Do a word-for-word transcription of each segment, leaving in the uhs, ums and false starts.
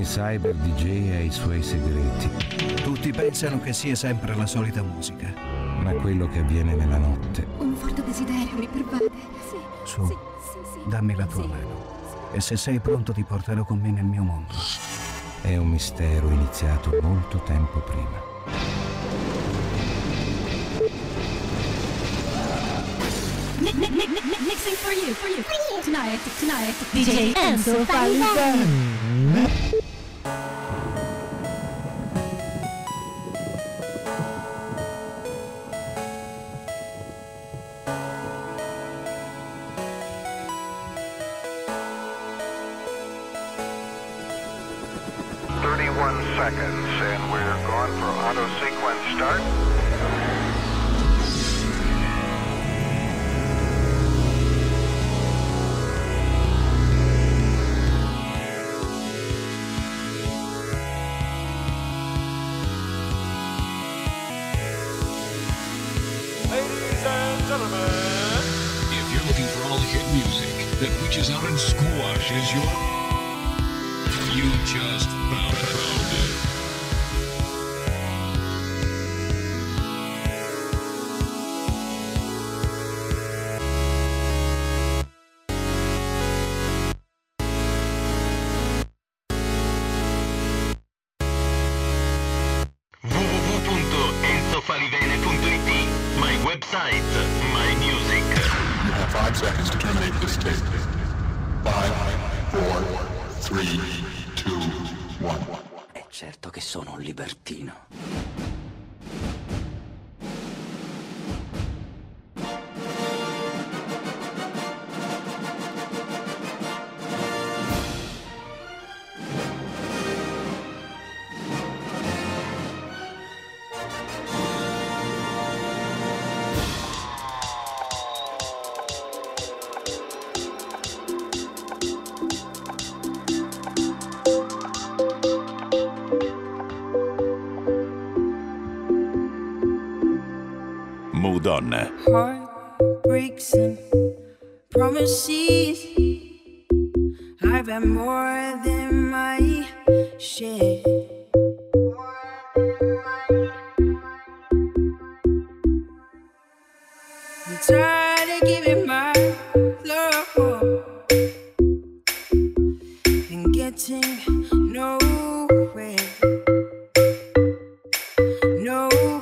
Ogni cyber D J ha i suoi segreti. Tutti pensano che sia sempre la solita musica. Ma quello che avviene nella notte... Un forte desiderio mi pervade. Sì. Su, sì, sì, sì. dammi la tua sì. mano. E se sei pronto ti porterò con me nel mio mondo. È un mistero iniziato molto tempo prima. Mixing for you, for you, for you. Tonight, tonight, D J Enzo Falivene. thirty-one seconds, and we're going for auto sequence start. Ladies and gentlemen, if you're looking for all the hit music that reaches out and squashes your... You just found, found it. w w w punto enzo falivene punto i t, my website, my music. You have five seconds to terminate this tape. Five, four, three, two, one. È certo che sono un libertino. Moodon. Heartbreaks and promises. I've had more than my share. I'm tired of giving my love and getting nowhere. Nowhere.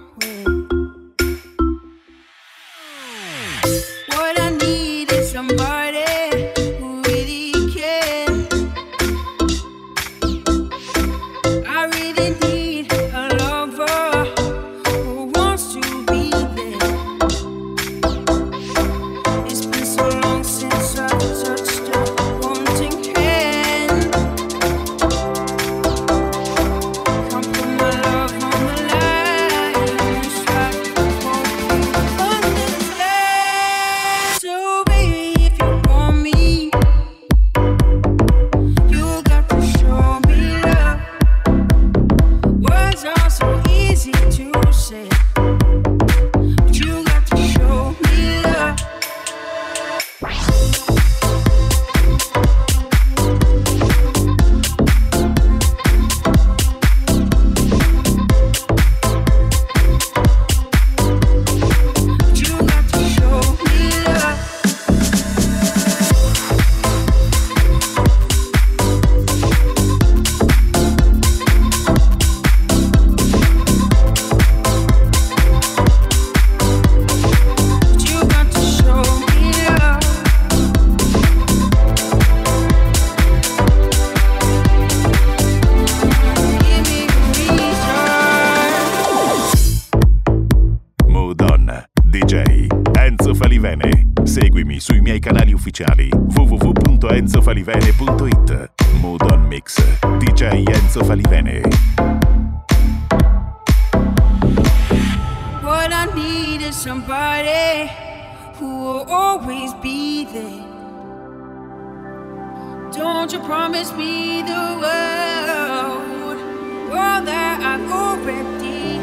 What I need is somebody who really cares. I really need a lover who wants to be there. It's been so long since I've touched a wanting hand. Come put my love on the line. Strive for you understand. So baby, if you want me, you got to show me love. Words are so easy to say, but you got to show me love. But you got to show me love. But you got to show me love. Give me a reason. Moodon. D J Enzo Falivene. Seguimi sui miei canali ufficiali w w w punto enzo falivene punto i t. Moodon Mix. D J Enzo Falivene. What I need is somebody who will always be there. Don't you promise me the world, world that I've already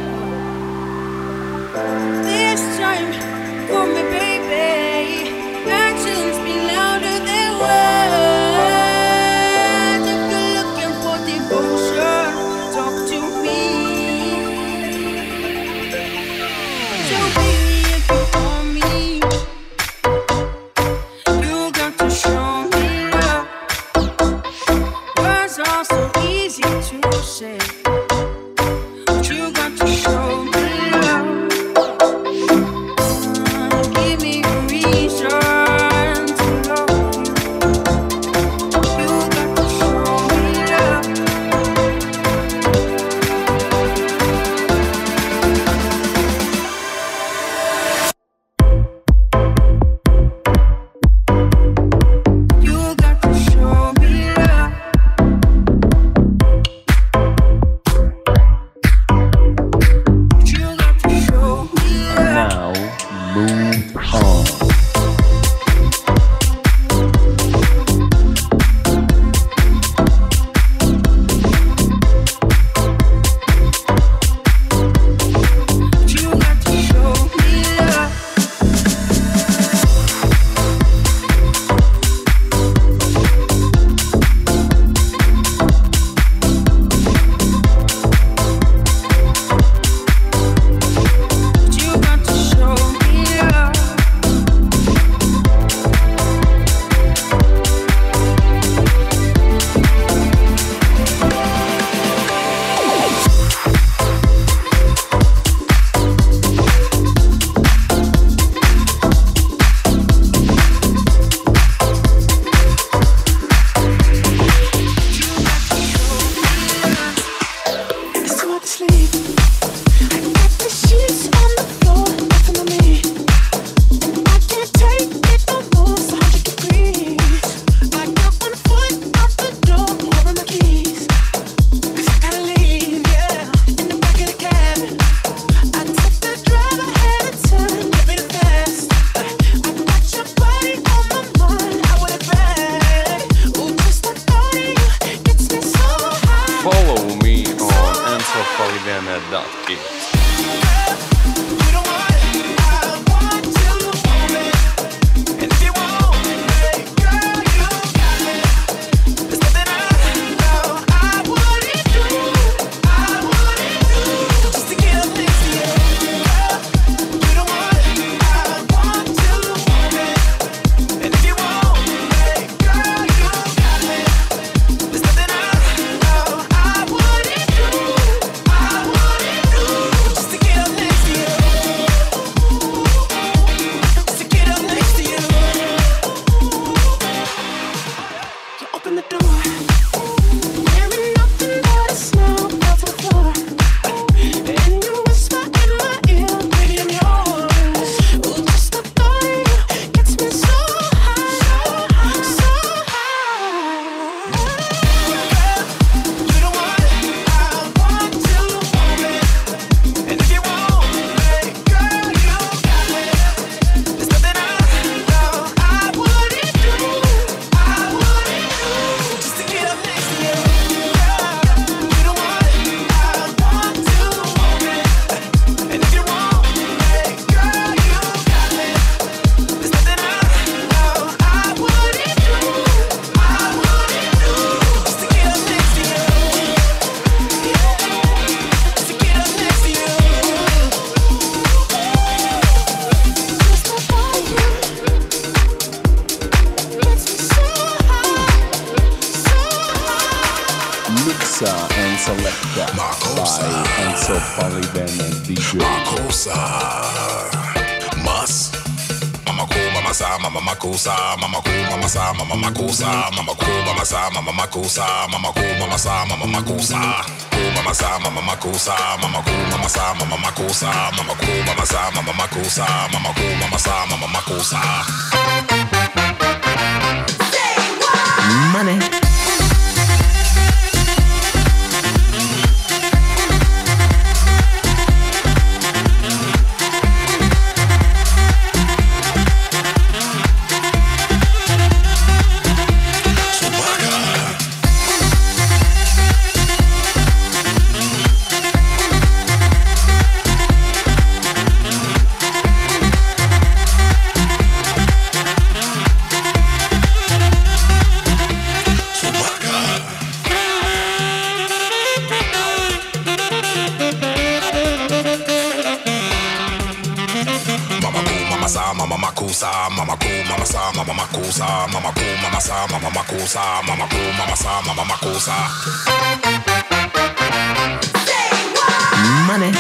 heard. This time, for me, baby. Actions speak louder than words. If you're looking for all so easy to say, but you got to show me love. Give me a reason to love you. You got to show me love. You got to show me love. You got to show me love. Now move on. You got to show me love. You got to show me love. It's too hard to sleep. I got the sheets on the floor next to me, and I can't take it no more. It's a hundred degrees. I got one foot out the door, holding my keys. 'Cause I gotta leave, yeah. In the back of the cab, I took the drive ahead of time, give me the fast. I got your body on my mind, I want it back. Ooh, just the thought of you gets me so high. Follow me on enzo falivene dot it. You don't want it, I want to own it. And if you want me, girl, you got me. There's nothing I know I wouldn't do, I wouldn't do, just to get up next to you. Girl, you don't want it, I want to own it. And if you want me, girl, you got me. There's nothing I know I wouldn't do, I wouldn't do, just to get up next to you. Just to get up next to you. You open the door, hearing nothing but a smell out to the floor, and you whisper in my ear, baby, I'm yours. Ooh, just the thought of you gets me so high, so high. You don't want it, I want to own it. And if you want me, girl, you got me. There's nothing I know I wouldn't do, I wouldn't do, just to get up next to you. You don't want it, I want to own it. And if you want me, girl, you got me. There's nothing I know I wouldn't do, I wouldn't do, just to get up next to you. Just to get up next to you. Just the thought of you gets me so high, so high. Mixa and selecta by Enzo Falivene D J. Makosa. Mas. Mama ko mama sa mama makosa mama ko mama sa mama makosa mama ko mama sa mama makosa mama ko mama sa mama makosa ko mama sa mama makosa mama ko mama sa mama makosa mama ko mama sa mama makosa mama ko mama sa mama makosa. Money. mama sa, mama makusa, mama ku, mama sa, mama makusa, mama ku, mama sa, mama makusa. Money.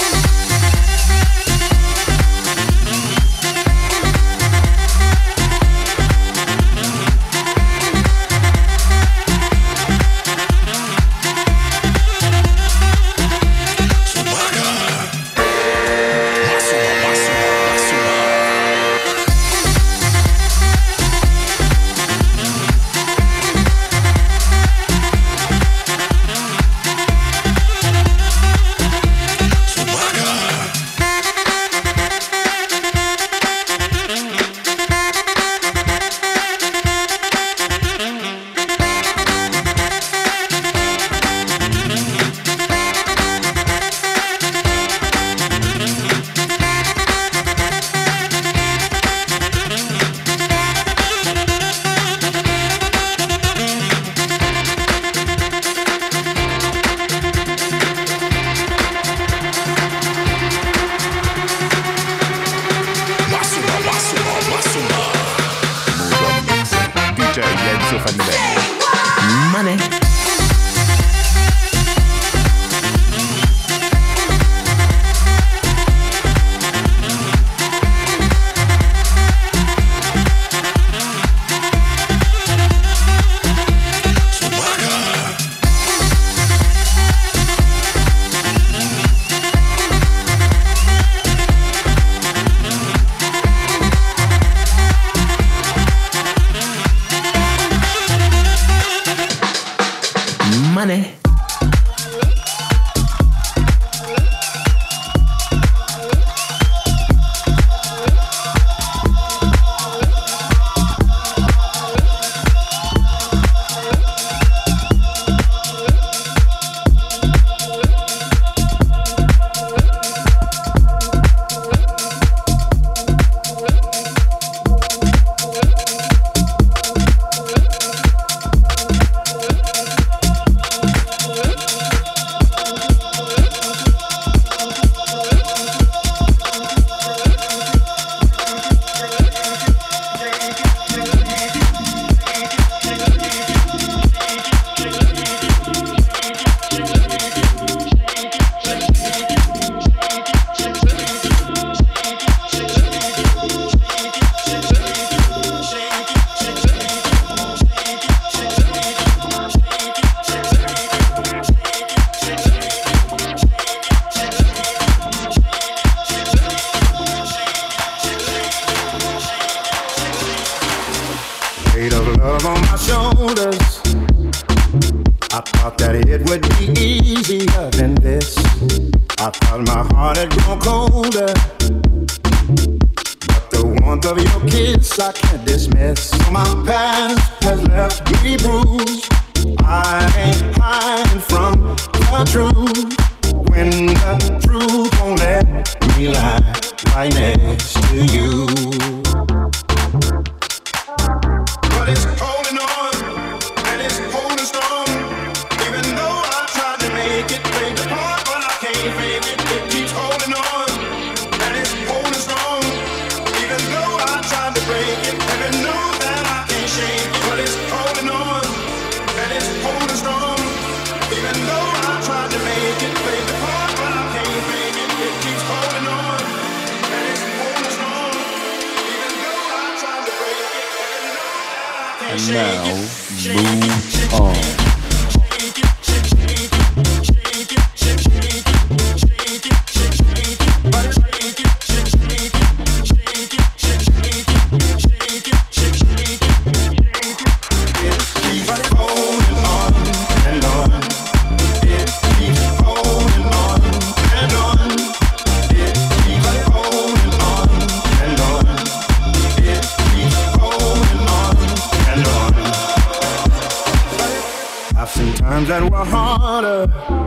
That were harder.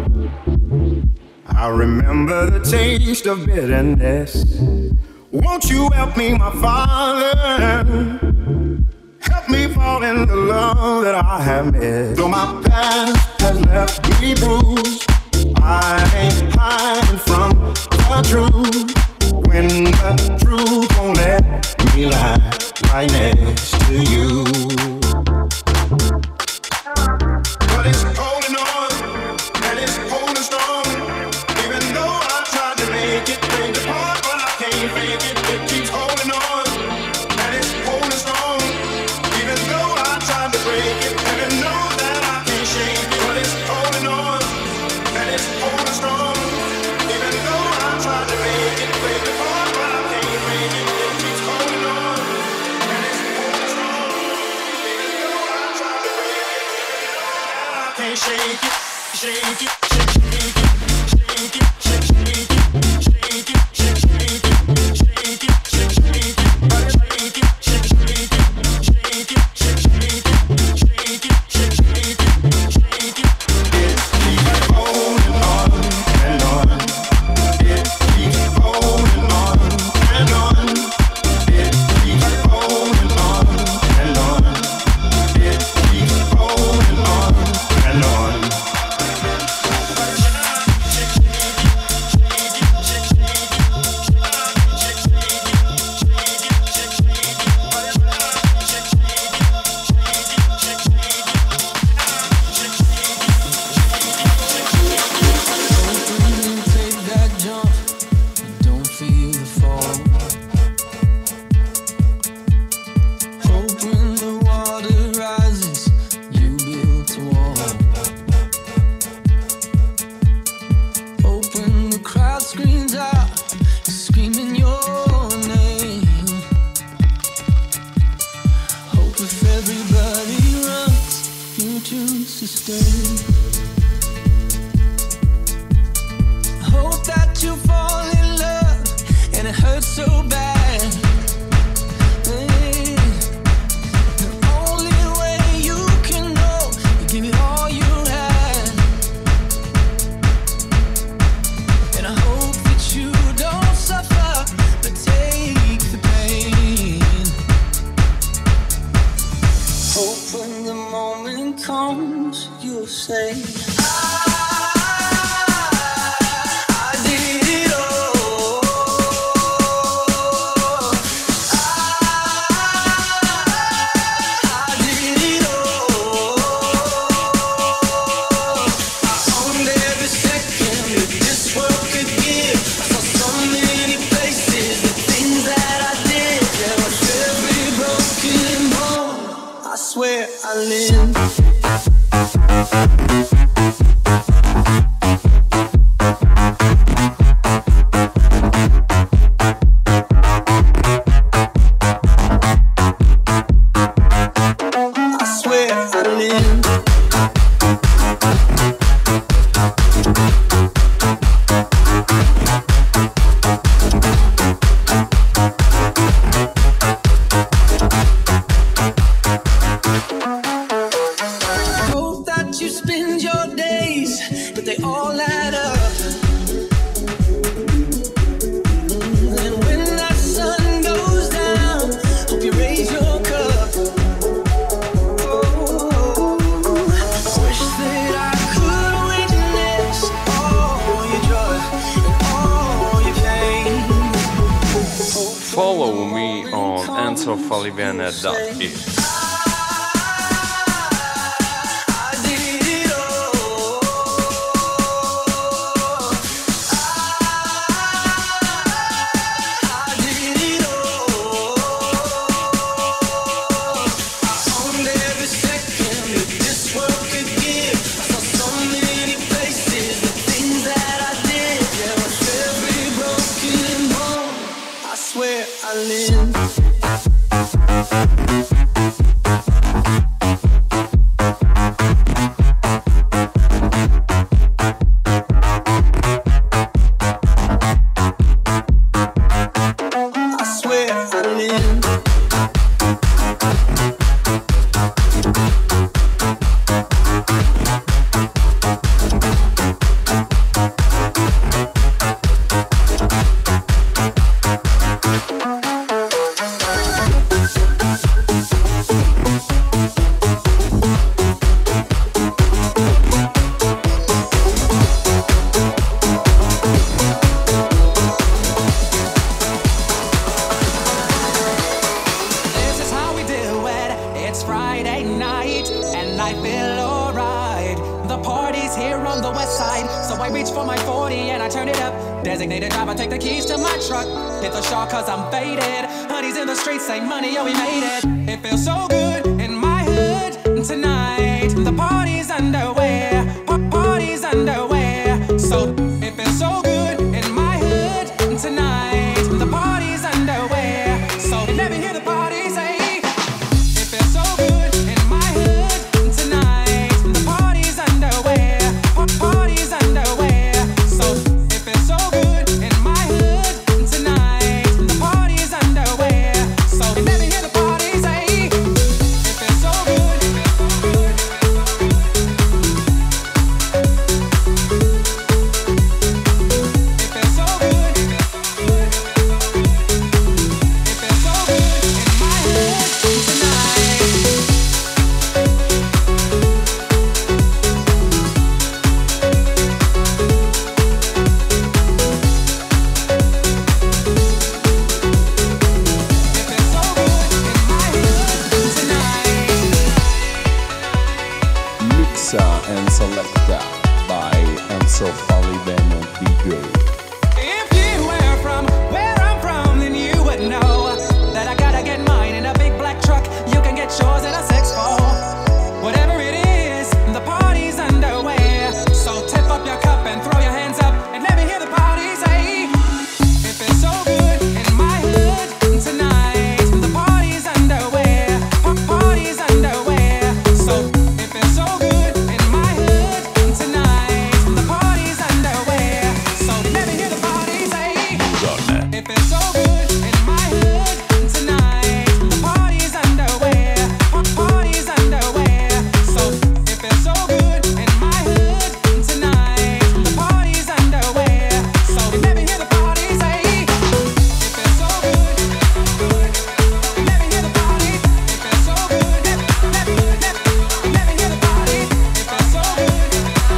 I remember the taste of bitterness. Won't you help me, my Father? Help me fall in the love that I have missed. Though my past has left me bruised, I ain't hiding from the truth. When the truth won't let me lie right next to you. But it's holding on, and it's holding strong. Even though I tried to make it break apart, but I can't fake it. It keeps holding on, and it's holding strong. Even though I tried to break it, and I know that I can't shake it. But it's holding on, and it's holding strong. Even though I tried to make it break apart, but I can't break it. It keeps holding on, and it's holding strong. Even though I tried to break it, and I can't shake it, shake it, shake, shake it, shake it, shake, shake it, shake it, shake, shake it, shake it, shake, shake it, shake it, shake, shake it, shake it, shake, shake it, shake it, shake, shake it, shake it. It keeps holding on and on. It keeps holding on and on. It keeps holding on and on. It keeps holding on and on. Take that jump, but don't feel the fall. Hope when the water rises, you build a wall. Hope when the crowd screams out, screaming your name. Hope if everybody runs, you choose to stay. Hope that you fall in love and it hurts so bad. Hey, the only way you can know, you give it all you had. And I hope that you don't suffer, but take the pain. Hope when the moment comes, you'll say, I did it all. I did it all. I owned every second that this world could give. I saw so many places, the things that I did. There was every broken bone. I swear I lived. I swear I lived. Hope that you spend your days, but they all add up. And when that sun goes down, hope you raise your cup. Oh, wish that I could witness all your joy and all your pain. Follow me on enzo falivene dot it. I did it all. I did it all. I owned every second that this world could give. I saw so many places, the things that I did. There was every broken bone. I swear I lived. parties here on the west side. So I reach for my forty and I turn it up. Designated driver, take the keys to my truck. Hit the shop cause I'm faded. Honey's in the streets, say money, oh we made it. It feels so good in my hood tonight. The party's underway, pa- party's underway. So it feels so good in my hood tonight. The party's underway. So you never hear the party say. It feels so good in my hood tonight. The party's underway, pa- party's underway. So it feels so good in my hood tonight. The party's underway. So you never hear the party say. It feels so good. And selected by Enzo Falivene D J. If you were from where I'm from, then you would know that I gotta get mine in a big black truck. You can get yours in a six four. Whatever it is, the party's underway. So tip up your cup and throw your hands up and let me hear the party say. It feels so good in my hood tonight. The party's underway. Pa- party's underway. So it feels so good in my hood tonight. The party's underway. So let me hear the party say. It feels so good in my hood tonight. The party's underway. Pa- party's underway. So it feels so good in my hood tonight. The party's underway. So let me hear the party say. It feels so good. Let me hear the party. It feels so good. Let, let, let, let me hear the party. It feels so good.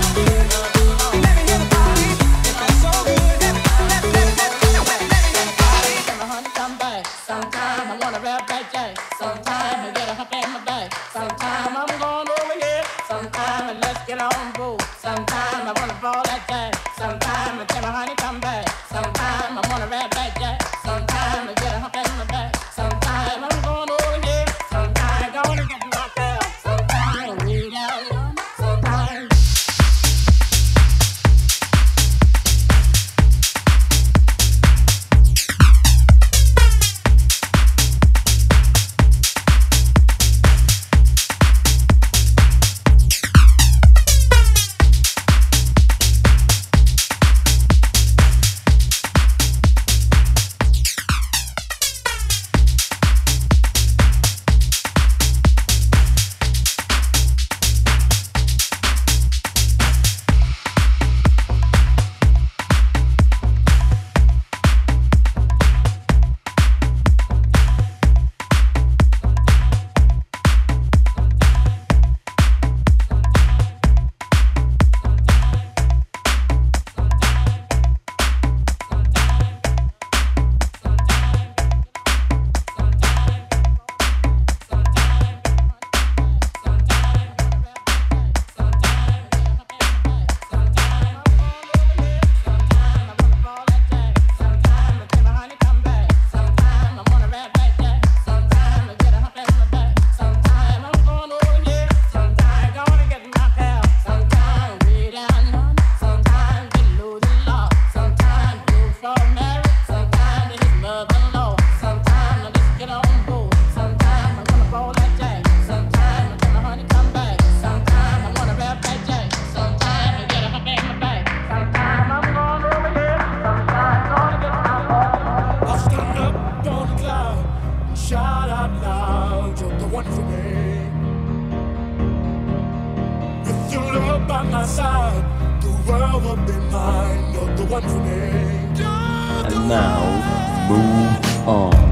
Let me hear the party. It feels so good. Let, let, let, let, let me hear the party. My honey come back. Sometime I wanna rap that jack. Sometime I get a hump in my back. Sometime I'm going over here. Sometime let's get on board. Sometime I wanna ball that jack. Sometime I tell my honey come back. Sometime I wanna rap that jack. Sometime I get a hump in my back. Sometime I'm going over here. Sometime I gonna get knocked out. Sometime we down. Sometime. And now, move on.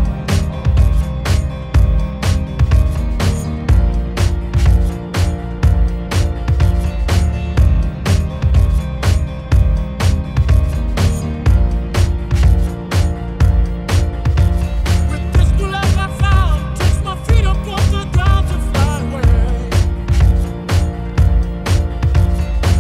Fly away.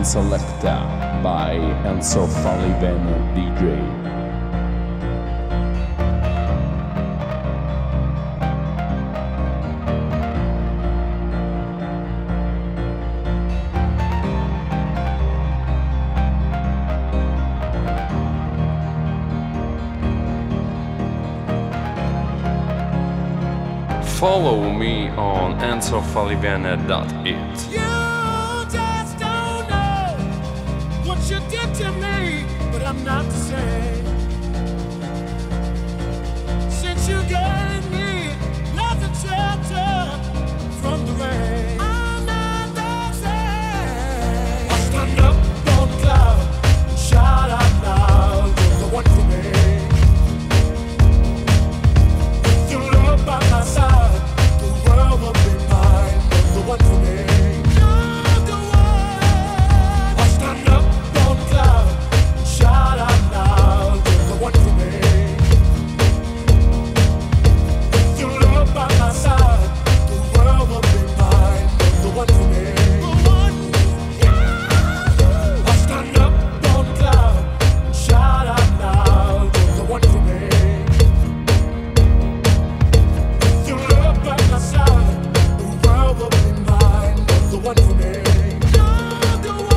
and Selecta by Enzo Falivene D J. Follow me on enzo falivene dot it. You just don't know what you did to me, but I'm not the same. Since you gave me nothing shelter from the rain, I'm not the same. I stand up on the cloud and shout out loud, you're the one for me. With your love by my side, the world will be mine, you're the one for me. You're the one. I stand up on the cloud and shout out loud, you're the one for me. With your love by my side, the world will be mine, you're the one for me. I stand up on the cloud and shout out loud, you're the one for me. With your love by my side, the world will be mine, you're the one for me. You're the one.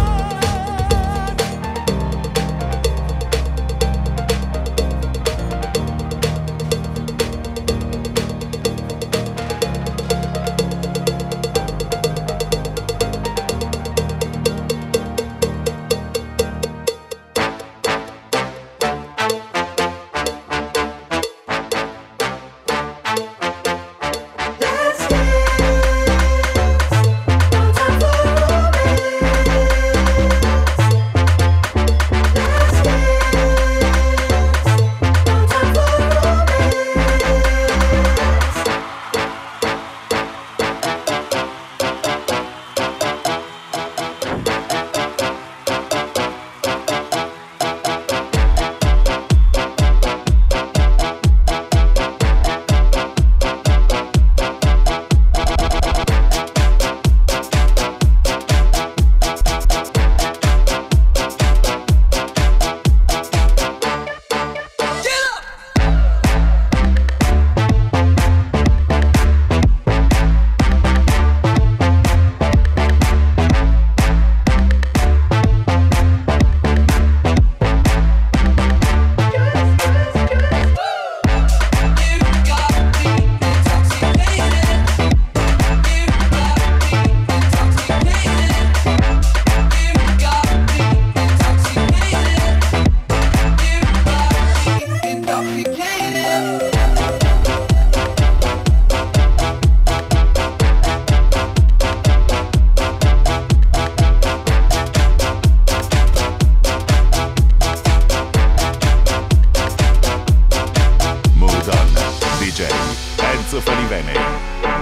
D J Enzo Falivene.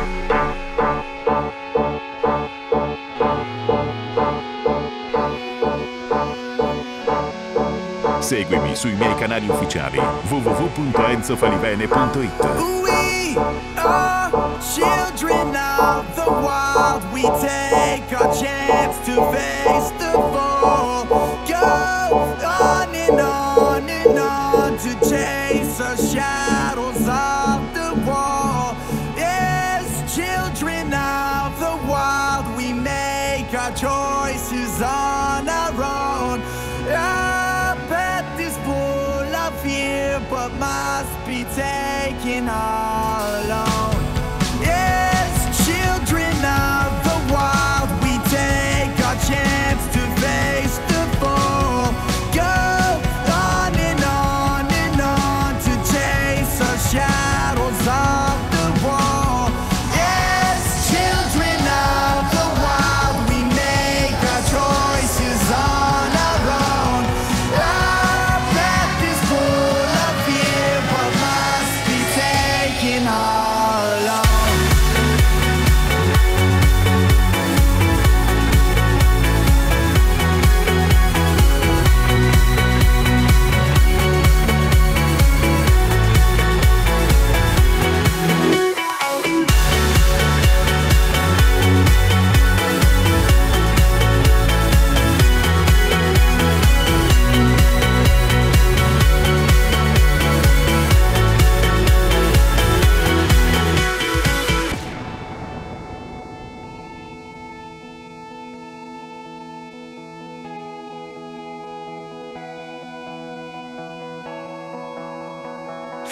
Seguimi sui miei canali ufficiali w w w punto enzo falivene punto it. We are children of the wild. We take our chance to face the fall. Go on and on and on to chase the shadows of the wall. Yes, children of the wild. We make our choices on our own. Our path is full of fear, but must be taken all alone. Yes, children of the wild, we take our chance to face the fall. Go on and on and on to chase the shadows of the wall. Yes, children of the wild, we make our choices on our own. Our path is full of fear, but must be taken on.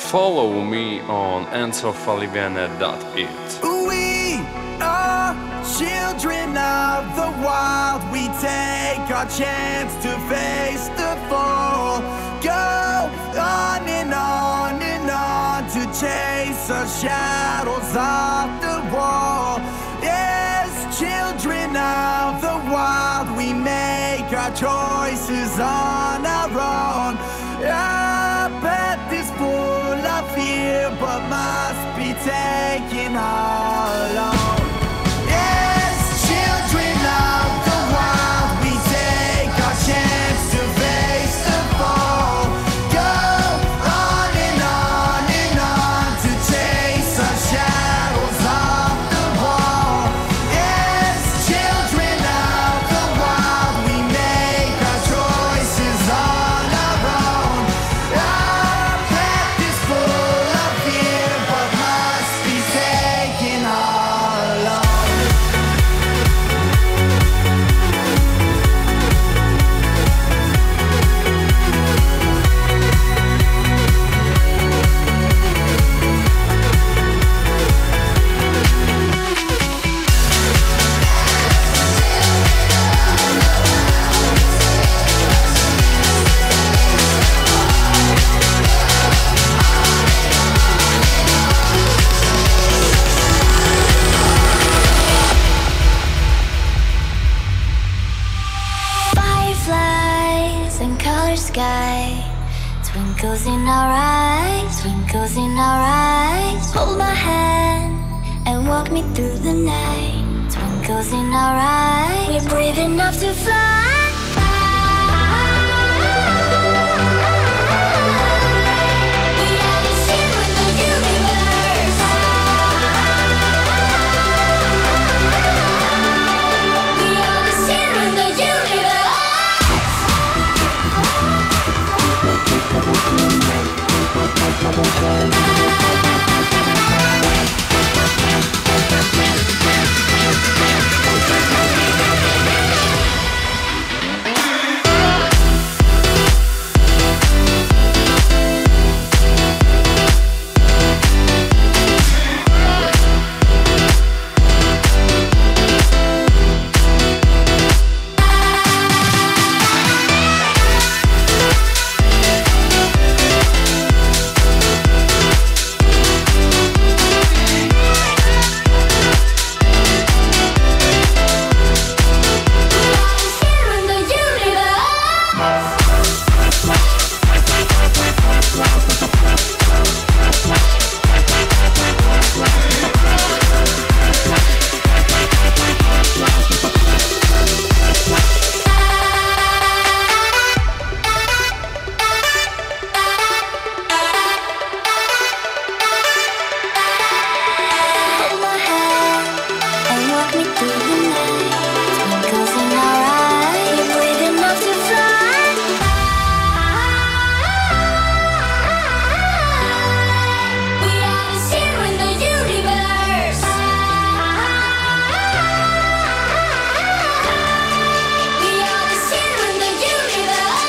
follow me on enzo falivene dot it. We are children of the wild. We take our chance to face the fall. Go on and on and on to chase our shadows off the wall. Yes, children of the wild, we make our choices on our own. Our path is full of fear, but must be taken all alone. Yes, children of the wild, we take our chance to face the fall. Go on and on and on to chase our shadows off the wall. Yes, children of the wild, we make our choices on our own. Our path is full of fear, but must be taken all alone. Fireflies and color sky, twinkles in our eyes, twinkles in our eyes. Hold my hand and walk me through the night. Twinkles in our eyes, we're brave enough to fly. We are the zero in the universe. We are the zero in the universe. Hold my hand and walk me through the night. Twinkles in our eyes, we're brave enough to fly. We are the zero in the universe. We are the zero in the universe.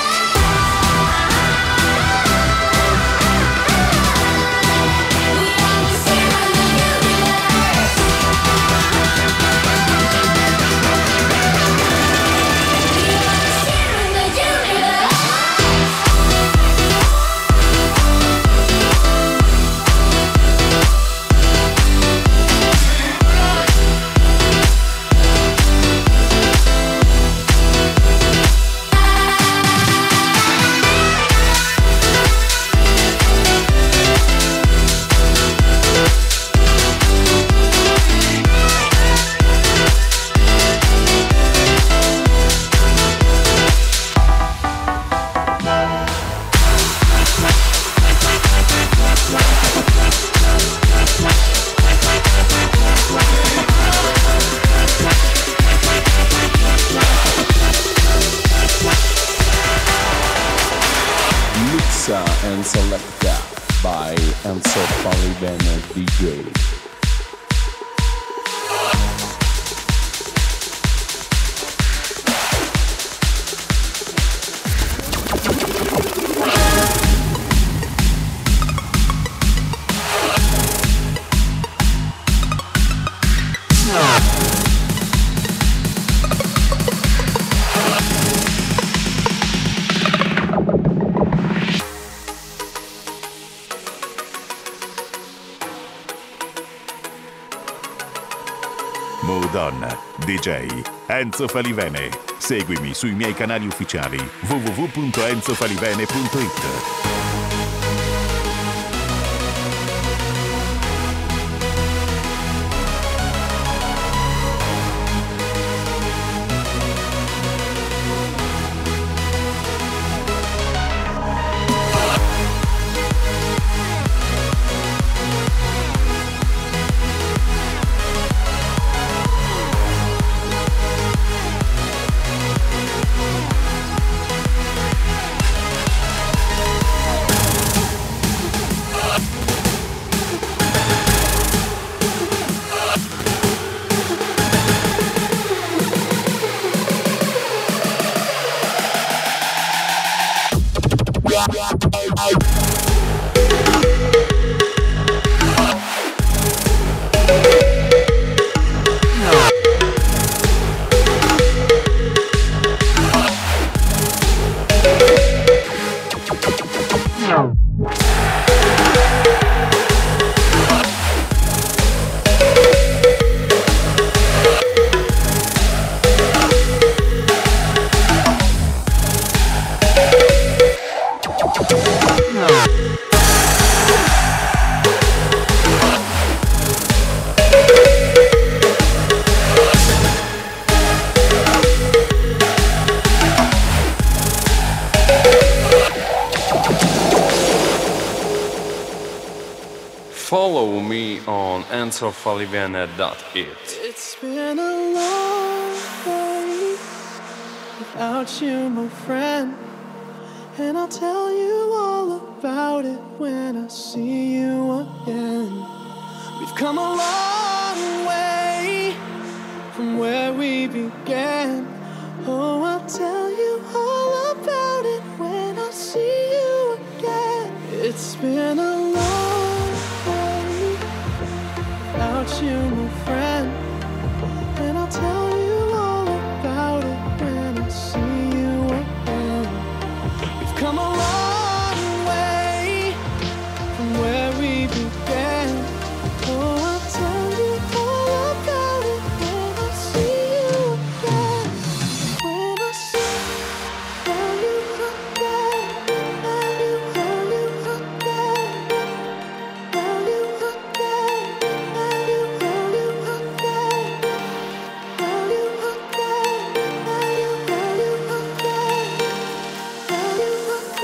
We are the zero in the universe. Mixa and Selecta by Enzo Falivene D J. Mood On, D J Enzo Falivene. Seguimi sui miei canali ufficiali w w w punto enzo falivene punto it. Follow me on enzo falivene dot it. It's been a long day without you, my friend, and I'll tell you all about it when I see you again. We've come a long way from where we began. Oh, I'll tell you all about it when I see you again. It's been a long way without you, my friend, and I'll tell you all about it when I see you again. We've come a long way from where we began. Oh, I'll tell you all about it when I see you again. When I see you again, tell you, tell you again, tell you again, tell you, tell you again, tell you again, tell you, tell you again, tell you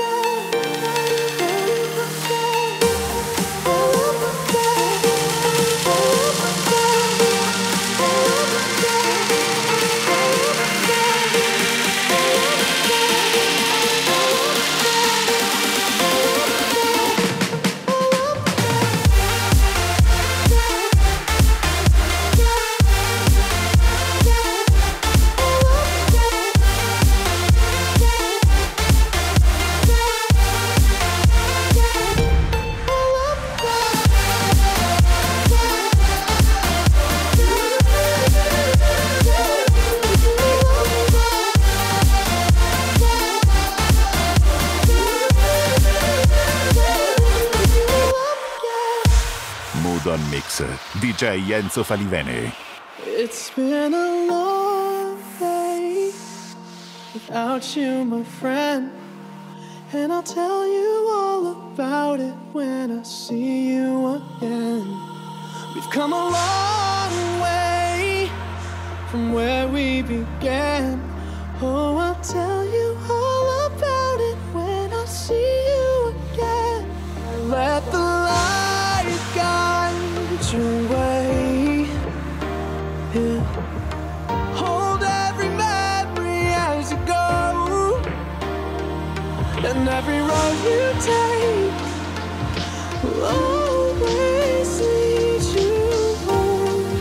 Mood On Mix, D J Enzo Falivene. It's been a long day without you, my friend, and I'll tell you all about it when I see you again. We've come a long way from where we began. Oh, I'll tell you all about it when I see you again. Let the light guide your way. Yeah. Hold every memory as you go, and every road you take will always lead you home.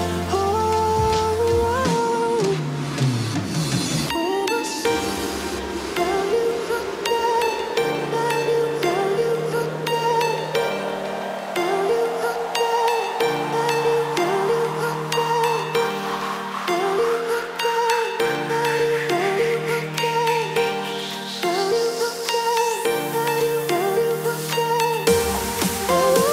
Oh, when I see tell you again, tell you, tell you again, tell you again, tell you, tell you again, tell you again, tell you, tell you again, tell you again, tell you, tell you again.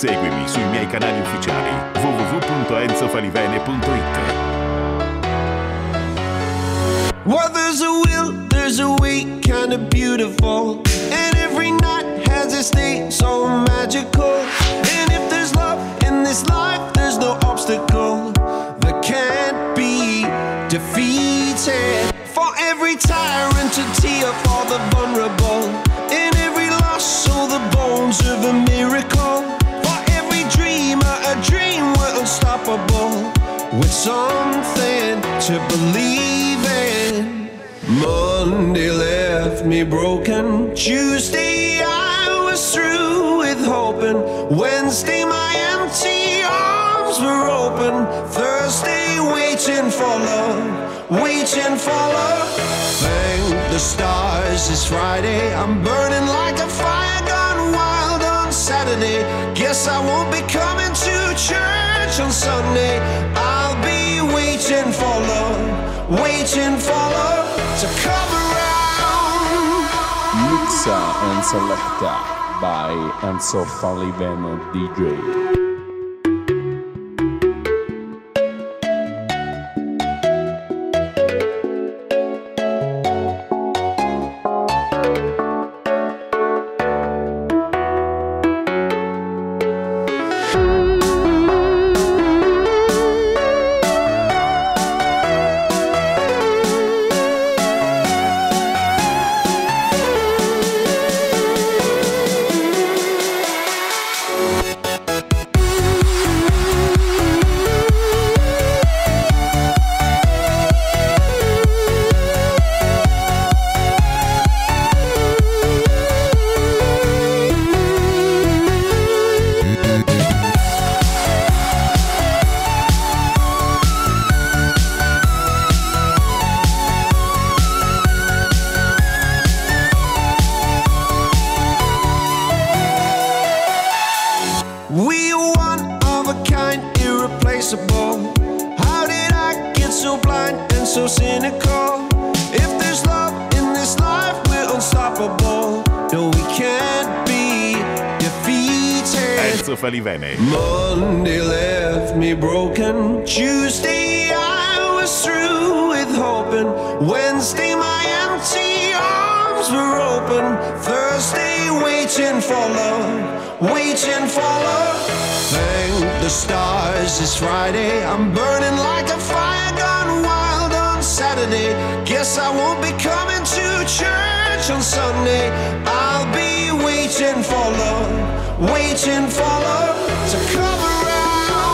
Seguimi sui miei canali ufficiali w w w punto enzo falivene punto it. Well, there's a will, there's a way, kinda beautiful. And every night has its day, so magical. And if there's love in this life, there's no obstacle that can't be defeated. For every tyrant to tear for the vulnerable. In every loss, so the bones of a miracle. For every dreamer, a dream we're unstoppable. With something to believe in. Monday left me broken. Tuesday I was through with hoping. Wednesday my empty arms were open. Thursday waiting for love, waiting for love. Thank the stars it's Friday. I'm burning like a fire gone wild on Saturday. Guess I won't be coming to church on Sunday. I'll be waiting for love, waiting for love to come around. Mixa and Selecta by Enzo Falivene D J. Falivene. Monday left me broken. Tuesday I was through with hoping. Wednesday my empty arms were open. Thursday waiting for love, waiting for love. Thank the stars it's Friday. I'm burning like a fire gone wild on Saturday. Guess I won't be coming to church on Sunday. I'll be waiting for love, waiting for love to come around.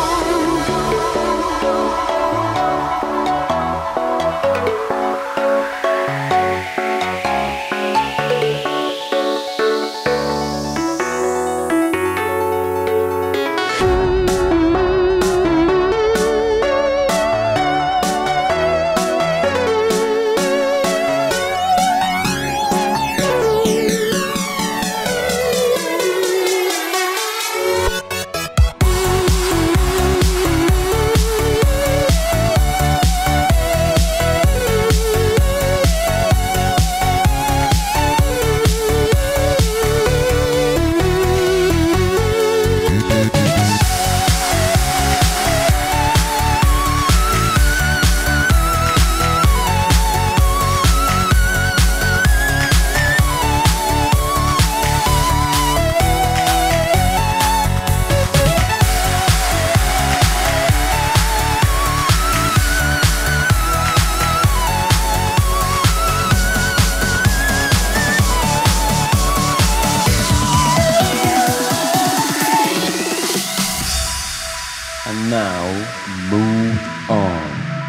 Now move on.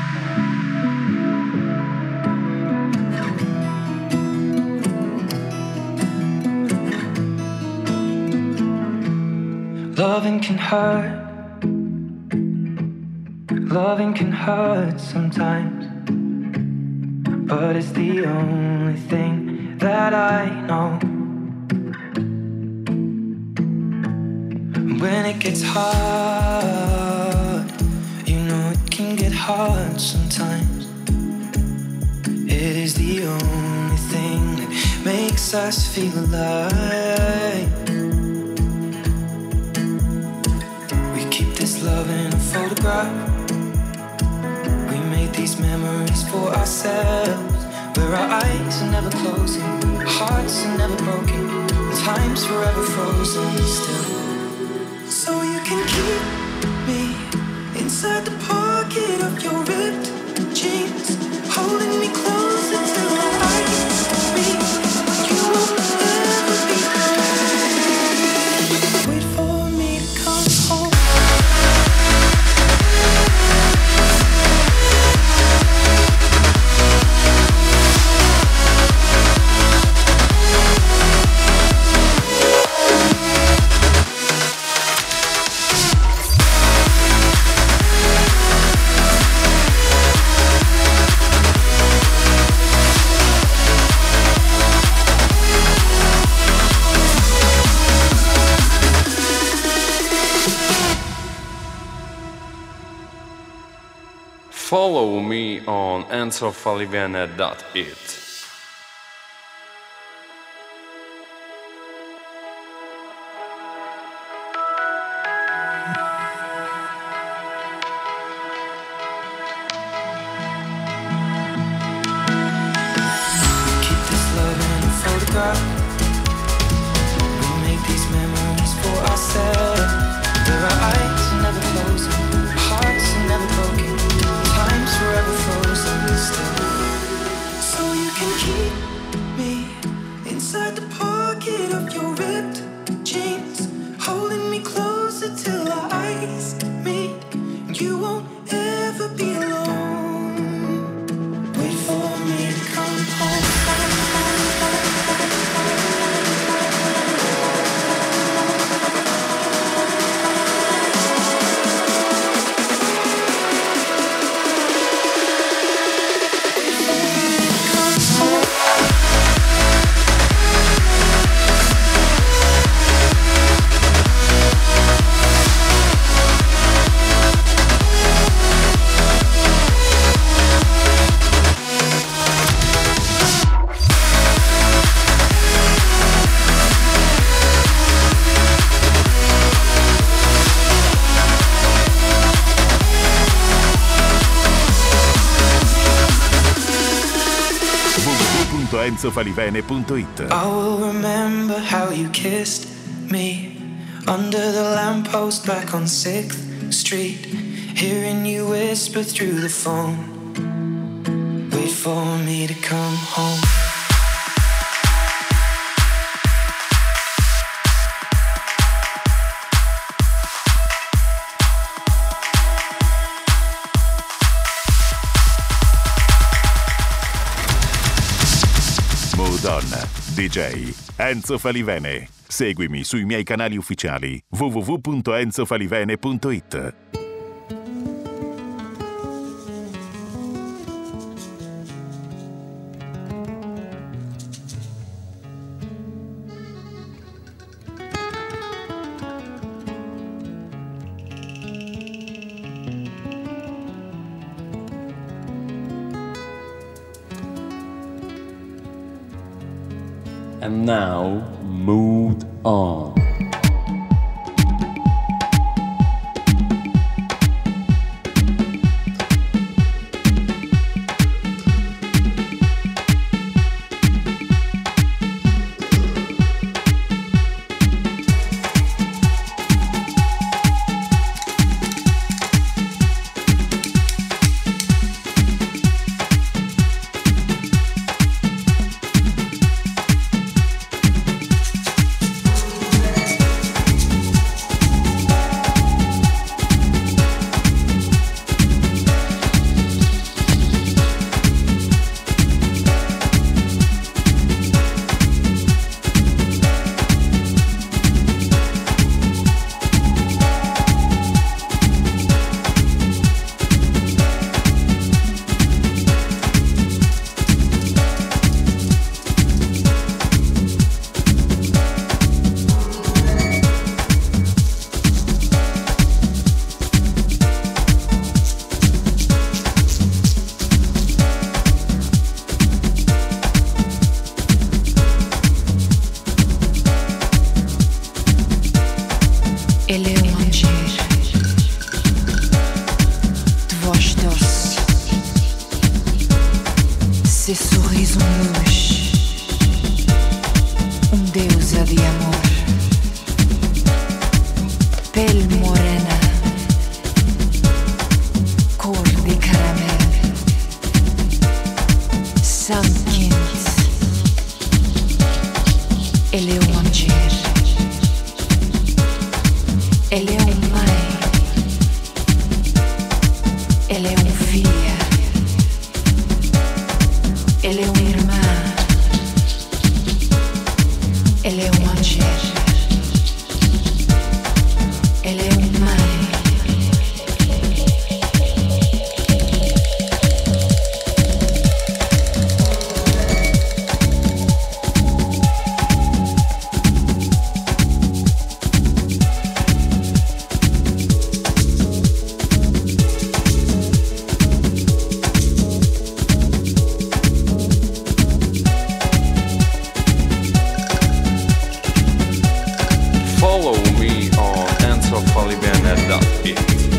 Loving can hurt. Loving can hurt sometimes, but it's the only thing that I know. When it gets hard, you know it can get hard sometimes. It is the only thing that makes us feel alive. this love in a photograph. We made these memories for ourselves, where our eyes are never closing, our hearts are never broken, and time's forever frozen still. So you can keep me inside the pocket of your ripped jeans, holding me closer till our eyes meet. You won't ever be alone. Wait for me to come home. Follow me on enzo falivene dot it. Keep this love in a photograph. We make these memories for ourselves, where our eyes are never closing, our hearts are never broken, time's forever frozen still. So you can keep me inside the pocket of your ripped jeans, holding me closer till our eyes meet. You won't ever be alone. Wait for me to come home. enzo falivene punto it. I will remember how you kissed me under the lamppost back on sixth Street, hearing you whisper through the phone, wait for me to come home. Donna, D J Enzo Falivene. Seguimi sui miei canali ufficiali w w w punto enzo falivene punto it. And now, Mood On. sorriso um luxo, um deusa de amor, pele morena, cor de caramelo, sangue quente. Ele é um anjer, ele é um mãe, ele é um filha, ele é uma irmã, ele é um anjer, ele é uma mãe. Follow me on enzo falivene dot it.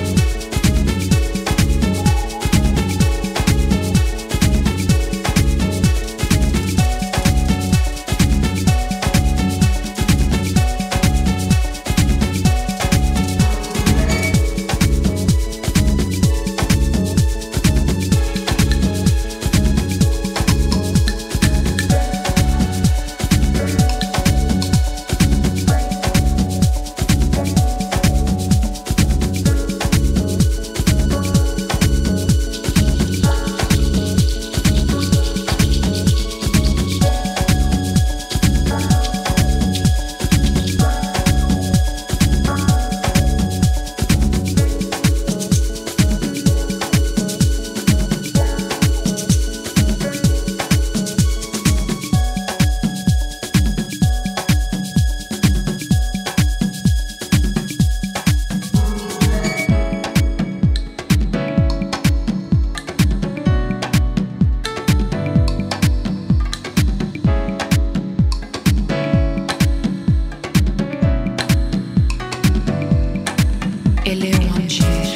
Ele é um anjer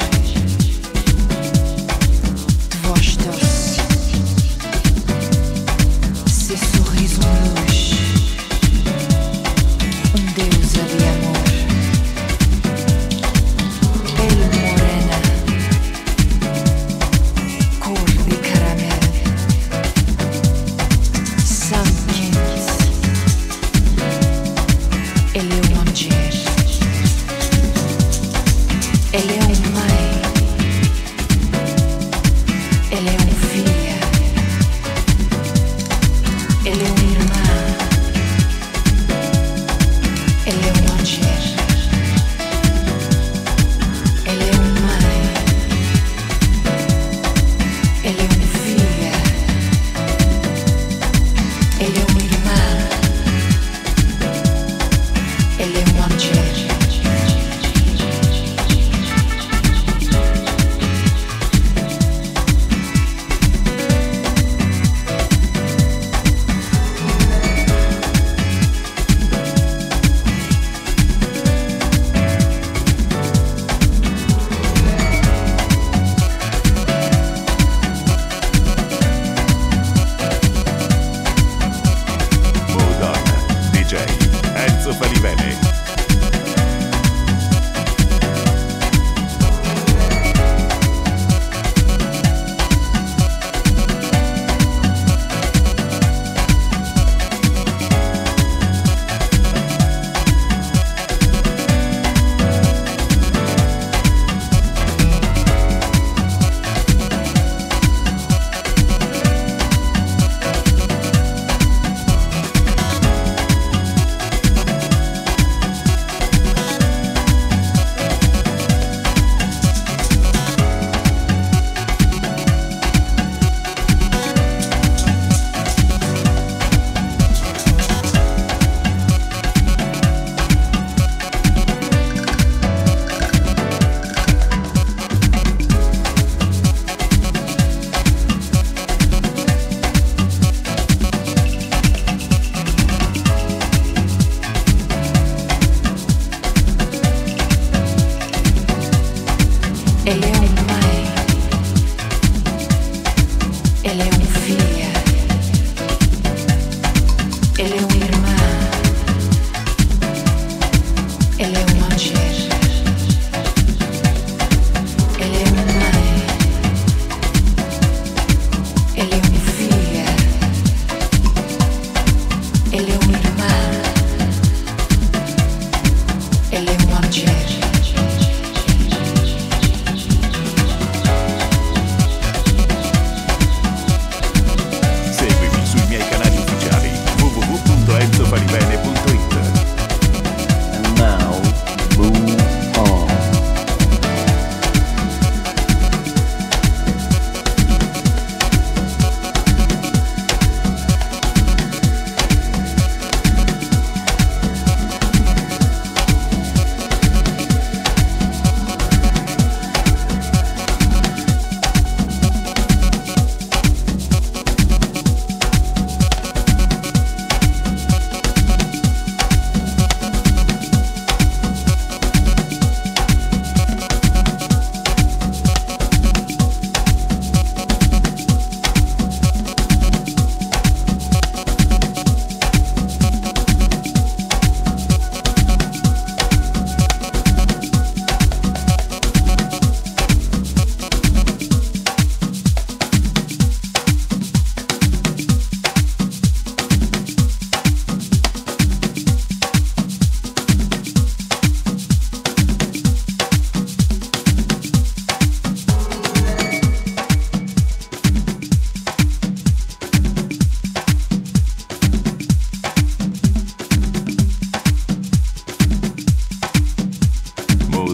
de voz doce, seu sorriso um luz, um deusa de amor, pele morena, cor de caramelo, sangue quente. Ele é um anjer, ele é uma mãe, ele é um filha, ele é uma irmã, ele é um anjer, ele é uma mãe, ele é uma filha, ele é uma irmã, ele é um anjer. D J Enzo Falivene. Ele é uma mãe, ele é uma filha,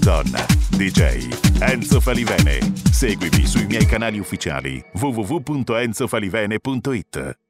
Mood On, D J Enzo Falivene. Seguimi sui miei canali ufficiali w w w punto enzo falivene punto it.